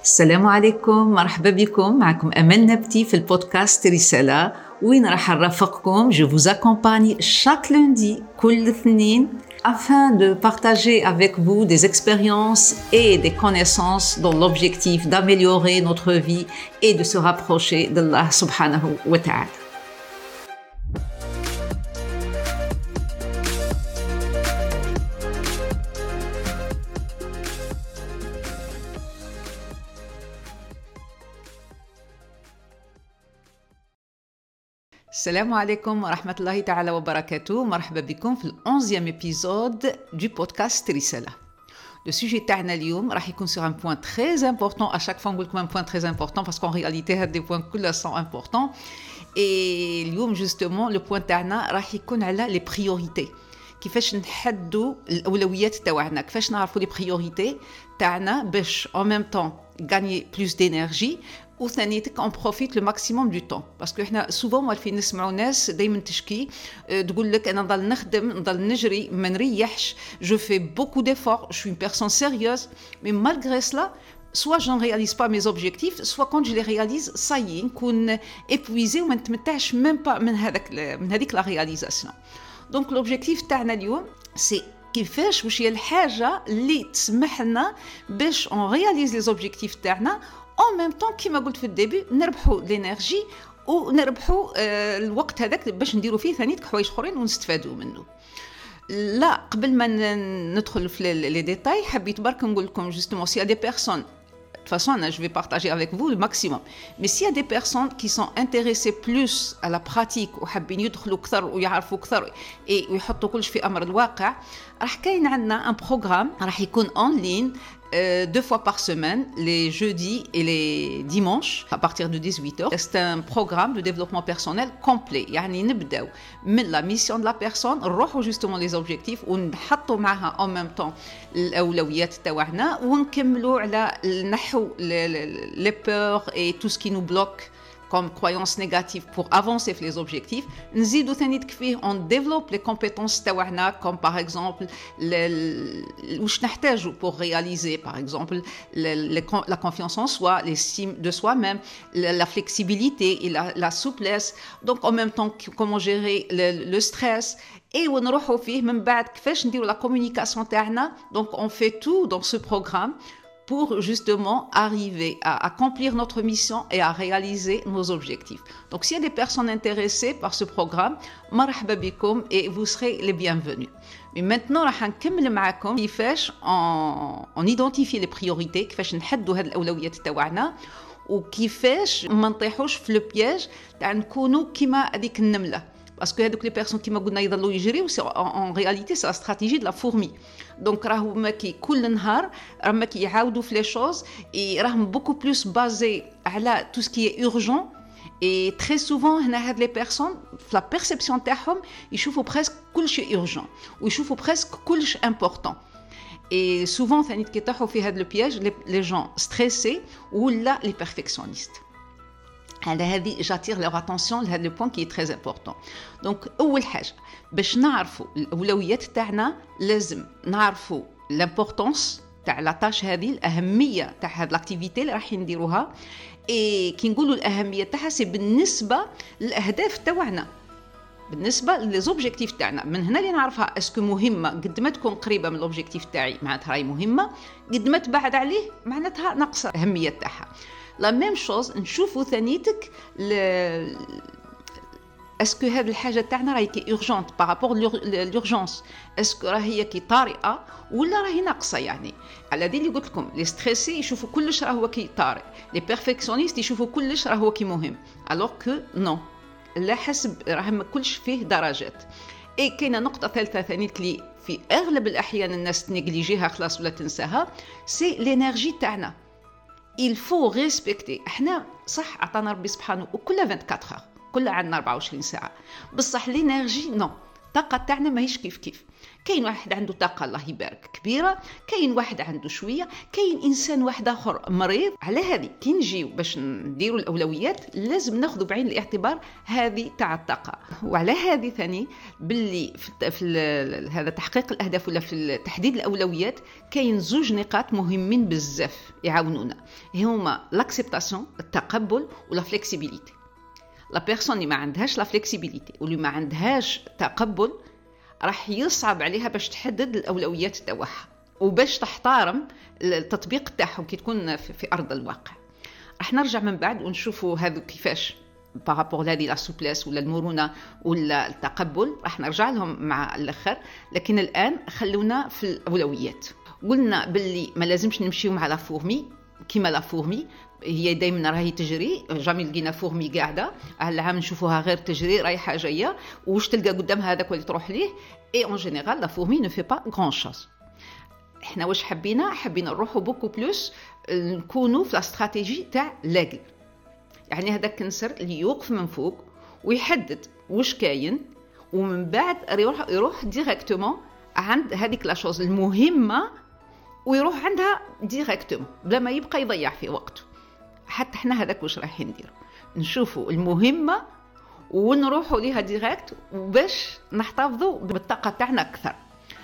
السلام عليكم، مرحبا بكم. معكم أمل نبتي في البودكاست رسالة وين راح نرافقكم. Je vous accompagne chaque lundi كل اثنين afin de partager avec vous des expériences et des connaissances dans l'objectif d'améliorer notre vie et de se rapprocher d'Allah subhanahu wa ta'ala. Salam alaikum wa rahmatullahi ta'ala wa barakatuh. Marhaba bikoum في ال11e épisode du podcast Risala. Le sujet تاعنا اليوم راح يكون sur un point très important. À chaque fois on dit un point très important parce qu'en réalité هاد des points كلها sont importants. Et اليوم justement le point تاعنا راح يكون على les priorités. كيفاش نحدوا الأولويات تاعنا، كيفاش نعرفوا les priorités تاعنا باش en même temps gagner plus d'énergie وثانيتك on profite le maximum du temps. parce que احنا souvent موالفين نسمعوا ناس دايما تشكي تقول لك انا نضل نخدم نضل نجري ما نريحش، je fais beaucoup d'efforts, je suis une personne sérieuse, mais malgré cela soit je ne réalise pas mes objectifs, soit quand je les réalise ça y est نكون épuisé وما نتمتعش même pas من هذيك la réalisation. donc l'objectif تاعنا اليوم c'est كيفاش واش هي الحاجه اللي تسمح لنا باش on réalise les objectifs تاعنا en même temps كيما قلت في الديبي نربحوا الانرجي ونربحوا الوقت هذاك باش نديروا فيه ثاني حوايج اخرين ونستفادوا منه. لا قبل ما ندخل في لي ديتاي حبيت برك نقول لكم جوستومون سي دي بيرسون de toute façon, je vais partager avec vous le maximum. Mais s'il y a des personnes qui sont intéressées plus à la pratique وحابين يدخلوا أكثر ويعرفوا أكثر ويحطوا كل شيء في أمر الواقع، راح كاين عندنا un programme راح يكون en ligne 2 fois par semaine, les jeudis et les dimanches, à partir de 18h. C'est un programme de développement personnel complet. يعني نبداو من la mission de la personne, نروحوا justement les objectifs ونحطوا معها en même temps الأولويات تاعنا ونكملوا على نحو les peurs et tout ce qui nous bloque comme croyances négatives pour avancer les objectifs. نزيدو ثاني فيه on développe les compétences تاعنا comme par exemple واش نحتاجو pour réaliser par exemple la confiance en soi, l'estime de soi-même, la flexibilité et la souplesse. donc en même temps comment gérer le stress et ونروحو فيه من بعد كيفاش نديرو la communication تاعنا. donc on fait tout dans ce programme pour justement arriver à accomplir notre mission et à réaliser nos objectifs. Donc s'il y a des personnes intéressées par ce programme, marhaba bikoum et vous serez les bienvenus. Mais maintenant راح نكمل معكم كيفاش on identifie les priorités، كيفاش نحدوا هاد الأولويات تاعنا وكيفاش ما نطيحوش في لو بياج تاع نكونوا كيما هذيك النملة. parce que هذوك les personnes كيما قلنا يضلوا يجريو en réalité c'est la stratégie de la fourmi. donc راهو ماكي كل نهار راهم ماكي يعاودوا في les choses et راهم beaucoup plus basés على tout ce qui est urgent. et très souvent هنا هاد les personnes في la perception تاعهم يشوفوا presque كل شيء urgent ويشوفوا presque كل شيء important. et souvent ثاني كيطيحوا في هاد le piège les gens stressés ولا les perfectionnistes. على هذه j'attire leur attention لهذا le point qui est très important. donc أول حاجة باش نعرفوا الأولويات تاعنا لازم نعرفوا l'importance تاع لا تاش هذه، الأهمية تاع هذه الأكتيفيتي اللي راح نديروها. كي نقولوا الأهمية تاعها سي بالنسبة للأهداف تاعنا، بالنسبة للأوبجيكتيف تاعنا. من هنا اللي نعرفها اسكو مهمة قد ما تكون قريبة من الأوبجيكتيف تاعي معناتها راهي مهمة، قد ما تبعد عليه معناتها ناقصة الأهمية تاعها. la même chose نشوفوا ثانيتك اسكو هذه الحاجه تاعنا راهي كي urgente par rapport l'urgence، اسكو راهي كي طارئه ولا راهي ناقصه. يعني على دي اللي قلت لكم لي ستريسي يشوفوا كلش راه هو كي طارئ، لي بيرفكسيونيست يشوفوا كلش راه هو كي مهم، alors que non، لا حسب راه كلش فيه درجات. كاينه نقطه ثالثه ثانيت اللي في اغلب الاحيان الناس تنجليجيها خلاص ولا تنساها، سي لينيرجي تاعنا. il faut respecter. احنا صح عطانا ربي سبحانه وكل 24 heures، كل عندنا 24 ساعه، بصح لينيرجي نو، الطاقه تاعنا ماهيش كيف كيف. كاين واحد عنده طاقه الله يبارك كبيره، كاين واحد عنده شويه، كاين انسان واحد اخر مريض. على هذه كي نجيو باش نديروا الاولويات لازم ناخذ بعين الاعتبار هذه تاع الطاقه. وعلى هذه ثاني باللي في هذا تحقيق الاهداف ولا في تحديد الاولويات كاين زوج نقاط مهمين بزاف يعاونونا، هما لاكسبتاسيون التقبل ولا فليكسيبيليتي. لا بيرسون اللي ما عندهاش لا فليكسيبيليتي واللي ما عندهاش تقبل راح يصعب عليها باش تحدد الاولويات تاعها وباش تحترم التطبيق تاعهم كي تكون في ارض الواقع. راح نرجع من بعد ونشوفوا هذو كيفاش بارابور لهذه لا سوبليس ولا المرونه ولا التقبل، راح نرجع لهم مع الاخر. لكن الان خلونا في الاولويات. قلنا باللي ما لازمش نمشيو مع لا فورمي كيما لا فورمي، هي دائما راهي تجري، جامي لقينا فورمي قاعده العام نشوفوها غير تجري رايحه جايه، واش تلقى قدامها هذاك اللي تروح ليه. اي اون جينيرال لا فورمي نو في با غران شوز. احنا واش حبينا نروحوا بوكو بلوس نكونوا في لا استراتيجي تاع لاقل، يعني هذاك النسر اللي يوقف من فوق ويحدد واش كاين، ومن بعد يروح ديريكتومون عند هذيك لا شوز المهمه ويروح عندها ديريكتومون بلا ما يبقى يضيع في وقته. حتى احنا هذاك واش رايحين نديروا، نشوفوا المهمه ونروحوا ليها ديريكت باش نحتفظوا بالطاقه تاعنا اكثر.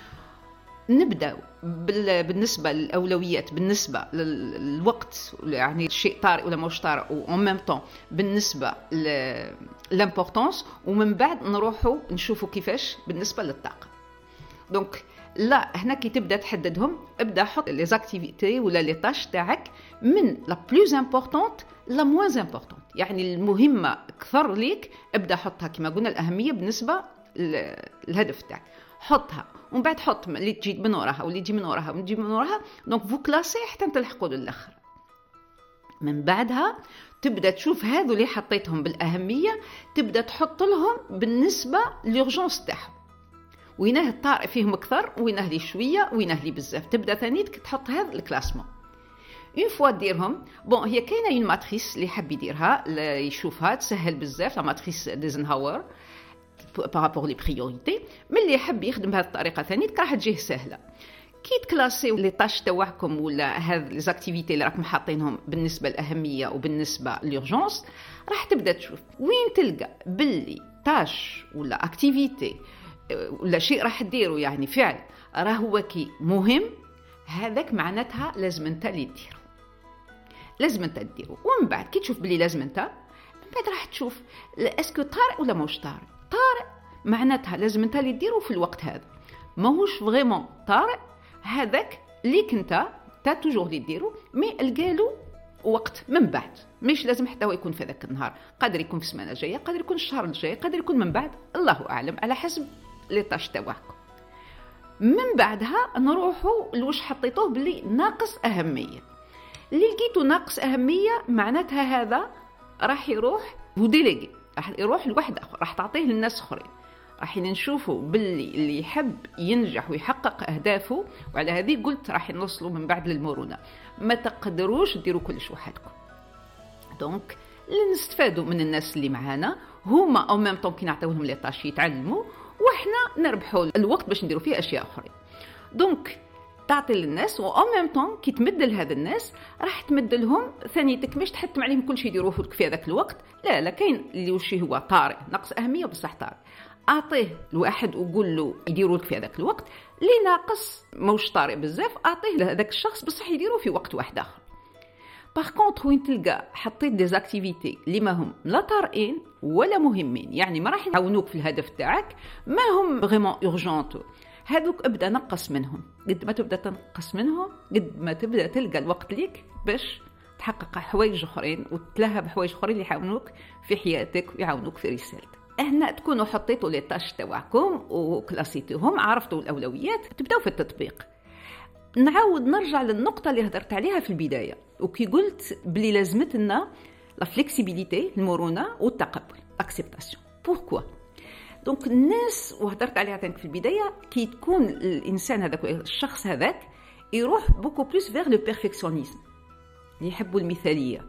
نبداو بالنسبه للاولويات، بالنسبه للوقت يعني شيء طارئ ولا مش طارئ، وان ميم طون بالنسبه لامبورطونس، ومن بعد نروحوا نشوفوا كيفاش بالنسبه للطاقه. دونك لا هنا كي تبدا تحددهم ابدا حط لي زاكتيفيتي ولا لي تاش تاعك من لا بلوز امبورطونت لا موان امبورطونت، يعني المهمه اكثر ليك ابدا حطها كما قلنا الاهميه بالنسبه للهدف تاعك، حطها ومن بعد حط اللي تجي من وراها واللي تجي من وراها واللي تجي من وراها. دونك فو كلاسي حتى تلحقوا للاخر. من بعدها تبدا تشوف هذو اللي حطيتهم بالاهميه تبدا تحط لهم بالنسبه لورجونس تاعهم، وينه الطارئ فيهم اكثر وينه لي شويه وينه لي بزاف. تبدا ثاني تحط هذا الكلاسمون. اون فوا ديرهم بون هي كاينه اون ماتريس اللي حاب يديرها يشوفها تسهل بزاف، لا ماتريس ديزنهاور بارابور لي بريوريتي. من اللي يحب يخدم بهذه الطريقه ثاني راح تجيه سهله. كي تكلاسيو لي طاش تاعكم ولا هذ لي زاكتيفيتي اللي راكم حاطينهم بالنسبه للاهميه وبالنسبه للورجونس، راح تبدا تشوف وين تلقى باللي طاش ولا اكتيفيتي ولا شيء راح تديروا يعني فعل راه هو كي مهم، هذاك معناتها لازم انت اللي تديره، لازم انت تديره. ومن بعد كي تشوف بلي لازم انت، من بعد راح تشوف اسكو طارئ ولا ماهوش طارئ. طارئ معناتها لازم انت اللي تديره في الوقت هذا، ماهوش فريمون طارئ هذاك ليك انت توجور اللي ديرو، مي القالو وقت من بعد، مش لازم حتى هو يكون في ذاك النهار، قادر يكون في السمانه الجايه، قادر يكون الشهر الجاي، قادر يكون من بعد، الله اعلم على حسب لي طاش تاعكم. من بعدها نروحوا لوش حطيتوه باللي ناقص اهميه. اللي لقيتو ناقص اهميه معناتها هذا راح يروح وديليغي، راح يروح لواحد اخر، راح تعطيه للناس اخرين. راح نشوفوا باللي اللي يحب ينجح ويحقق اهدافه، وعلى هذه قلت راح نوصلوا من بعد للمرونه. ما تقدروش ديروا كلش وحدكم. دونك اللي نستفادوا من الناس اللي معانا هما او ميم طون كي نعطيوهم لي طاش يتعلموا، وإحنا نربحوا الوقت باش نديروا فيه أشياء أخرى. دونك تعطي للناس و en même temps كي تمد لهذا الناس راح تمد لهم ثانيتك، مش تحتم عليهم كل شيء يديروه لك في هذاك الوقت. لا كاين اللي وشي هو طارئ نقص أهمية بصح طارئ، أعطيه لواحد وقول له يديروا لك في هذاك الوقت. اللي ناقص موش طارئ بزاف أعطيه لهذاك الشخص بصح يديروه في وقت واحد آخر. باغ كونطخ وين تلقى حطيت دي زاكتيفيتي اللي ما هم لا طارئين ولا مهمين، يعني ما راح يعاونوك في الهدف تاعك، ما هم فريمون اورجونت، هذوك ابدا نقص منهم. قد ما تبدا تنقص منهم قد ما تبدا تلقى الوقت ليك باش تحقق حوايج اخرين وتلهى بحوايج اخرين اللي يعاونوك في حياتك ويعاونوك في رسالتك. هنا تكونوا حطيتوا لي طاش تاعكم وكلاسيتوهم، عرفتوا الاولويات، تبداو في التطبيق. نعاود نرجع للنقطة اللي هدرت عليها في البداية، وكي قلت بلي لازمتنا لا فليكسيبيليتي، المرونة والتقبل، اكسبتاسيون. بوركوا؟ دونك الناس وهدرت عليها في البداية، كي تكون الإنسان هذاك الشخص هذاك يروح بوكو بلوس فيغ لو بيرفكسيونيزم، يحبوا المثالية.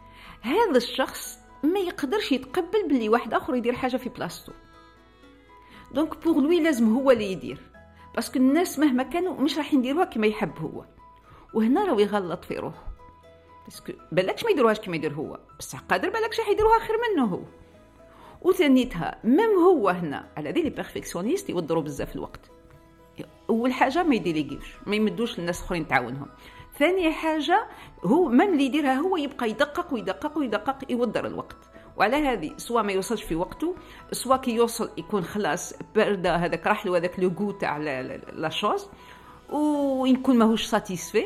هذا الشخص ما يقدرش يتقبل بلي واحد آخر يدير حاجة في بلاصتو. دونك بور لوي لازم هو اللي يدير، باسكو الناس مهما كانوا مش راح يديروها كما يحب هو، وهنا راهو يغلط في روحه، باسكو بالكش ما يديروهاش كما يدير هو، بصح قادر بالكش راح يديروها خير منه هو. وثانيتها ميم هو هنا على ذي لي بيرفكسيونيست يوضروا بزاف الوقت. اول حاجه ما يديليغيوش، ما يمدوش للناس اخرين تعاونهم. ثاني حاجه هو ميم اللي يديرها هو يبقى يدقق ويدقق ويدقق يوضر الوقت، وعلى هذه سواء ما يوصلش في وقته، سواء كي يوصل يكون خلاص برده هذاك راح له هذاك لو غو تاع لا شوز، ويكون ماهوش ساتيسفي.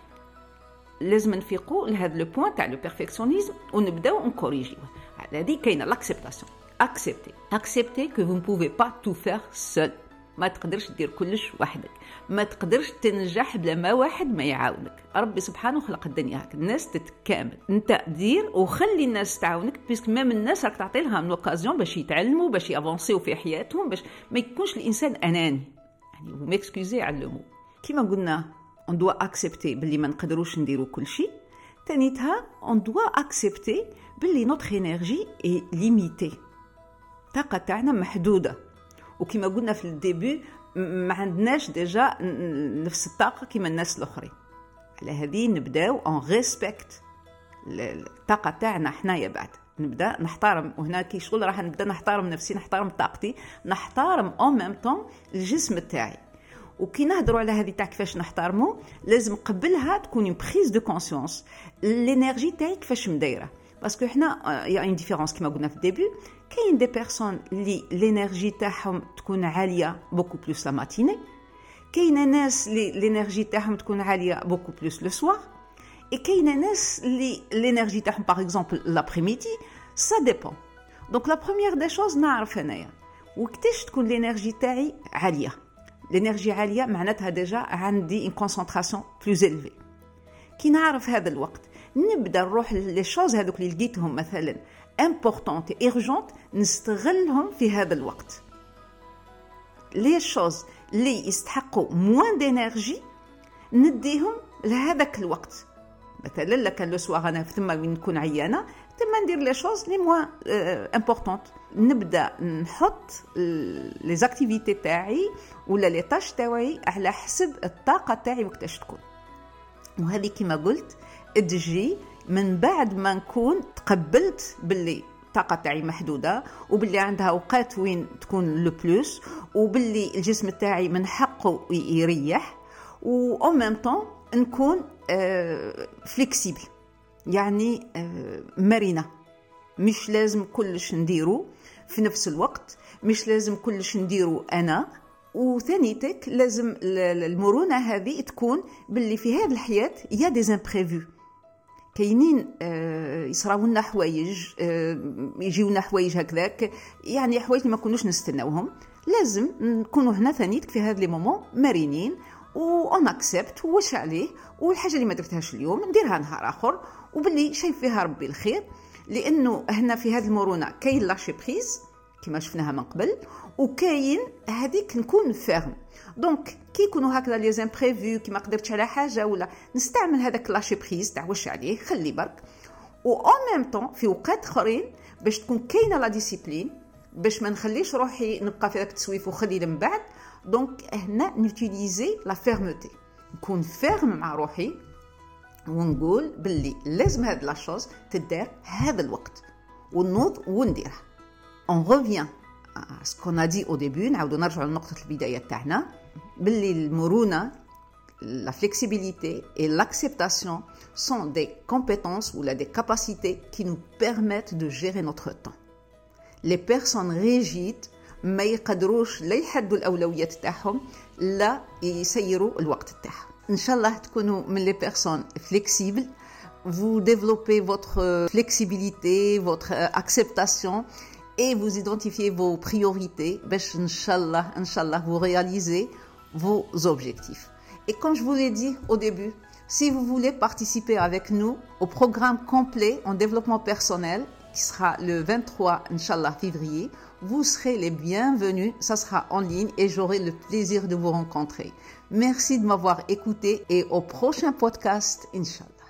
لازم نفيقوا لهذا لو بوين تاع لو بيرفكسيونيزم ونبداو نكوريجيو. على هذه كاينه لاكسبتاسيون، accepter que vous ne pouvez pas tout faire seul. ما تقدرش دير كلش وحدك، ما تقدرش تنجح بلا ما واحد ما يعاونك. ربي سبحانه خلق الدنيا هكا، الناس تتكامل، انت دير وخلي الناس تعاونك، بيسك مام الناس راك تعطي لها لوكازيون باش يتعلموا، باش يافونسيو في حياتهم، باش ما يكونش الانسان اناني. يعني وميكسكوزي على لو مو كيما قلنا on doit accepter باللي ما نقدروش نديروا كل شيء. ثانيتها on doit accepter باللي notre énergie est limitée، الطاقه تاعنا محدوده، وكما قلنا في الديبي ما عندناش ديجا نفس الطاقه كيما الناس الاخرين. على هذه نبداو اون ريسبكت الطاقه تاعنا حنايا، بعد نبدا نحترم، وهنا كي شغل راح نبدا نحترم نفسي، نحترم طاقتي، نحترم اون ميم طون الجسم تاعي. وكي نهضروا على هذه تاع كيفاش نحترموا، لازم قبلها تكون اون بريز دو كونسيونس الانرجي تاعي كيفاش مدايره، باسكو حنا يا اون ديفيرونس كيما قلنا في الديبي. كاين دي بيرسون اللي الانرجي تاعهم تكون عاليه بوكو بلوس لا ماتيني، كاينه ناس اللي الانرجي تاعهم تكون عاليه بوكو بلوس لو سوار، اي كاينه ناس اللي الانرجي تاعهم باغ اكزومبل لابريميدي. سا ديبون. دونك لا بروميير دي شوز نعرف انايا وقتاش تكون الانرجي تاعي عاليه. الانرجي عاليه معناتها ديجا عندي ان كونسونطراسيون بلوز إليفي. كي نعرف هذا الوقت نبدا نروح لي شوز هذوك اللي لقيتهم مثلا امبورطونت ايرجونت نستغلهم في هذا الوقت. لي شوز اللي يستحقوا موان دينيرجي نديهم لهذاك الوقت. مثلا لكان لو سوار انا ثم وين نكون عيانه ثم ندير لي شوز لي موان امبورطونت، نبدا نحط لي زاكتيفيتي تاعي ولا لي تاش تاعي على حسب الطاقه تاعي وقتاش تكون. وهذه كما قلت تجي من بعد ما نكون تقبلت باللي الطاقه تاعي محدوده، وباللي عندها اوقات وين تكون لو بلوس، وباللي الجسم تاعي من حقه يريح، و او ميم طون نكون فليكسيبل، يعني مرنه. مش لازم كلش نديرو في نفس الوقت، مش لازم كلش نديرو انا. وثانيتك لازم المرونه هذه تكون باللي في هذه الحياه يا دي امبريفو، كاينين يصراو لنا حوايج، يجيونا حوايج هكذاك، يعني حوايج ما كناش نستناوهم. لازم نكونوا هنا ثانيتك في هذا لي مومون مرينين اون اكسبت واش عليه، والحاجه اللي ما درتهاش اليوم نديرها نهار اخر، وباللي شايف فيها ربي الخير. لانه هنا في هذه المرونه كاين لاشي بريز كما شفناها من قبل، وكاين هذيك نكون فيرم. دونك كي يكونوا هكذا لي زامبريفو كي ما قدرتش على حاجه ولا نستعمل هذاك لاشي بريز تاع واش عليه خلي برك، و اون ميم طون في اوقات اخرين باش تكون كاينه لا ديسيبلين، باش ما نخليش روحي نبقى في هذاك التسويف وخلي من بعد. دونك هنا نوتيليزي لا فيرموتي، نكون فيرم مع روحي ونقول باللي لازم هاد لا شوز تدار هذا الوقت ونوض ونديرها. on revient à ce qu'on a dit au début، نعاودو نرجعوا لنقطة البداية تاعنا باللي المرونة la flexibilité et l'acceptation sont des compétences ou des capacités qui nous permettent de gérer notre temps. Les personnes rigides ما يقدروش لا يحدوا الأولويات تاعهم لا يسيروا الوقت تاعهم. إن شاء الله تكونوا من les personnes flexibles. Vous développez votre flexibilité, votre acceptation et vous identifiez vos priorités. باش إن شاء الله vous réalisez vos objectifs. Et comme je vous l'ai dit au début, si vous voulez participer avec nous au programme complet en développement personnel qui sera le 23 Inch'Allah février, vous serez les bienvenus. Ça sera en ligne et j'aurai le plaisir de vous rencontrer. Merci de m'avoir écouté et au prochain podcast Inch'Allah.